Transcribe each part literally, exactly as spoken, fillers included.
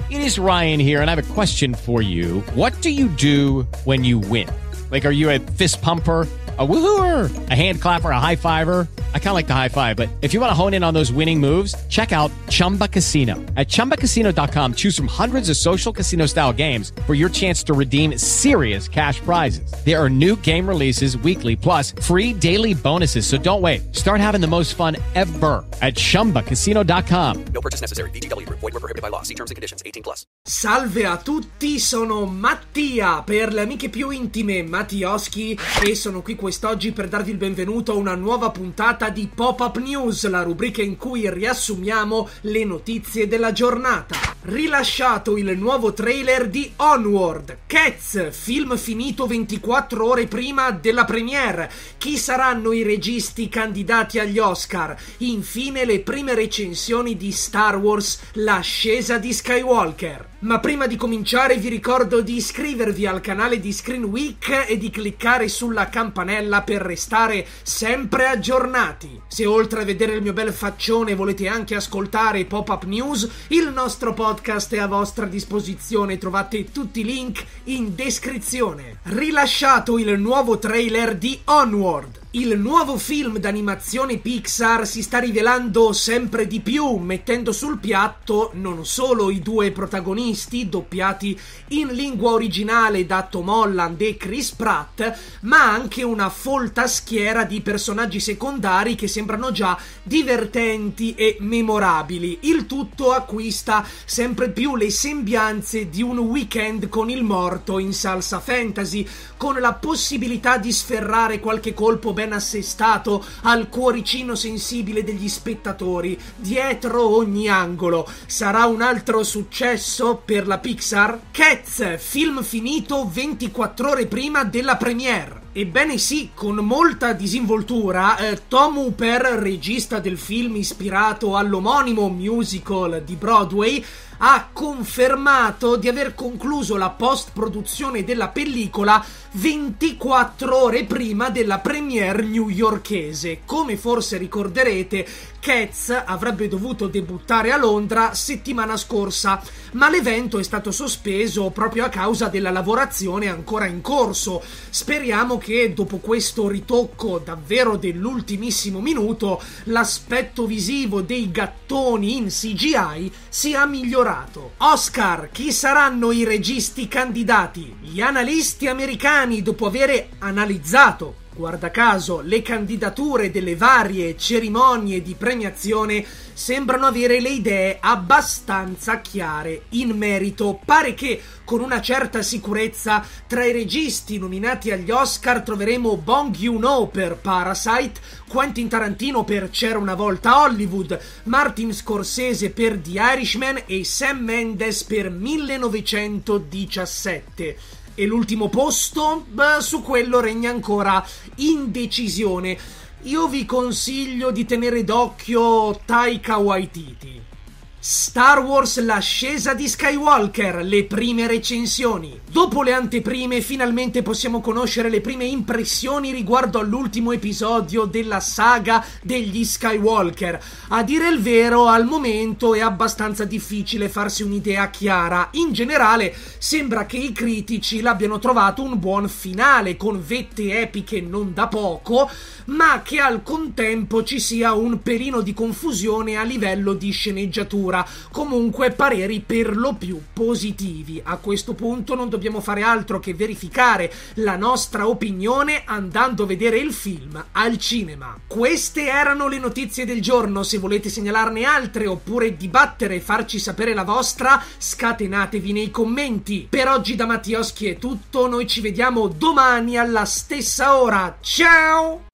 It is Ryan here, and I have a question for you. What do you do when you win? Like, are you a fist pumper, a woohooer, a hand clapper, a high fiver? I kind of like the high five, but if you want to hone in on those winning moves, check out Chumba Casino. At chumba casino dot com, choose from hundreds of social casino style games for your chance to redeem serious cash prizes. There are new game releases weekly, plus free daily bonuses. So don't wait. Start having the most fun ever at chumba casino dot com. No purchase necessary. V G W Group. Void where prohibited by law. See terms and conditions. eighteen plus. Salve a tutti, sono Mattia, per le amiche più intime Mattioschi, e sono qui quest'oggi per darvi il benvenuto a una nuova puntata di Pop-Up News, la rubrica in cui riassumiamo le notizie della giornata. Rilasciato il nuovo trailer di Onward, Cats, film finito ventiquattro ore prima della premiere. Chi saranno i registi candidati agli Oscar? Infine le prime recensioni di Star Wars, l'ascesa di Skywalker. Ma prima di cominciare vi ricordo di iscrivervi al canale di Screen Week e di cliccare sulla campanella per restare sempre aggiornati. Se oltre a vedere il mio bel faccione volete anche ascoltare Pop-Up News, il nostro podcast è a vostra disposizione, trovate tutti i link in descrizione. Rilasciato il nuovo trailer di Onward. Il nuovo film d'animazione Pixar si sta rivelando sempre di più, mettendo sul piatto non solo i due protagonisti doppiati in lingua originale da Tom Holland e Chris Pratt, ma anche una folta schiera di personaggi secondari che sembrano già divertenti e memorabili. Il tutto acquista sempre più le sembianze di un weekend con il morto in salsa fantasy, con la possibilità di sferrare qualche colpo ben assestato al cuoricino sensibile degli spettatori dietro ogni angolo. Sarà un altro successo per la Pixar? Cats, film finito ventiquattro ore prima della premiere. Ebbene sì, con molta disinvoltura, eh, Tom Hooper, regista del film ispirato all'omonimo musical di Broadway, ha confermato di aver concluso la post-produzione della pellicola ventiquattro ore prima della premiere newyorkese. Come forse ricorderete, Cats avrebbe dovuto debuttare a Londra settimana scorsa, ma l'evento è stato sospeso proprio a causa della lavorazione ancora in corso. Speriamo che dopo questo ritocco davvero dell'ultimissimo minuto l'aspetto visivo dei gattoni in C G I sia migliorato. Oscar, chi saranno i registi candidati? Gli analisti americani, dopo avere analizzato, guarda caso, le candidature delle varie cerimonie di premiazione, sembrano avere le idee abbastanza chiare in merito. Pare che con una certa sicurezza tra i registi nominati agli Oscar troveremo Bong Joon-ho per Parasite, Quentin Tarantino per C'era una volta Hollywood, Martin Scorsese per The Irishman e Sam Mendes per millenovecentodiciassette. E l'ultimo posto? Beh, su quello regna ancora indecisione. Io vi consiglio di tenere d'occhio Taika Waititi. Star Wars, l'ascesa di Skywalker, le prime recensioni. Dopo le anteprime finalmente possiamo conoscere le prime impressioni riguardo all'ultimo episodio della saga degli Skywalker. A dire il vero, al momento è abbastanza difficile farsi un'idea chiara. In generale sembra che i critici l'abbiano trovato un buon finale, con vette epiche non da poco, ma che al contempo ci sia un pelino di confusione a livello di sceneggiatura. Comunque pareri per lo più positivi. A questo punto non dobbiamo fare altro che verificare la nostra opinione andando a vedere il film al cinema. Queste erano le notizie del giorno. Se volete segnalarne altre oppure dibattere e farci sapere la vostra, scatenatevi nei commenti. Per oggi da Mattioschi è tutto, noi ci vediamo domani alla stessa ora. Ciao!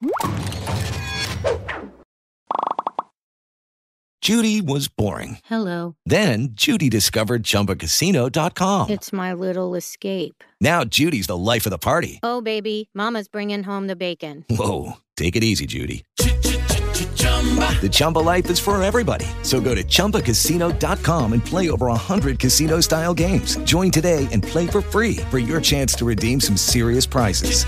Judy was boring. Hello. Then Judy discovered Chumba Casino dot com. It's my little escape. Now Judy's the life of the party. Oh, baby, mama's bringing home the bacon. Whoa, take it easy, Judy. The Chumba life is for everybody. So go to chumba casino dot com and play over one hundred casino-style games. Join today and play for free for your chance to redeem some serious prizes.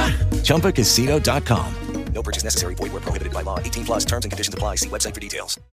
chumba casino dot com. No purchase necessary. Void where prohibited by law. eighteen plus terms and conditions apply. See website for details.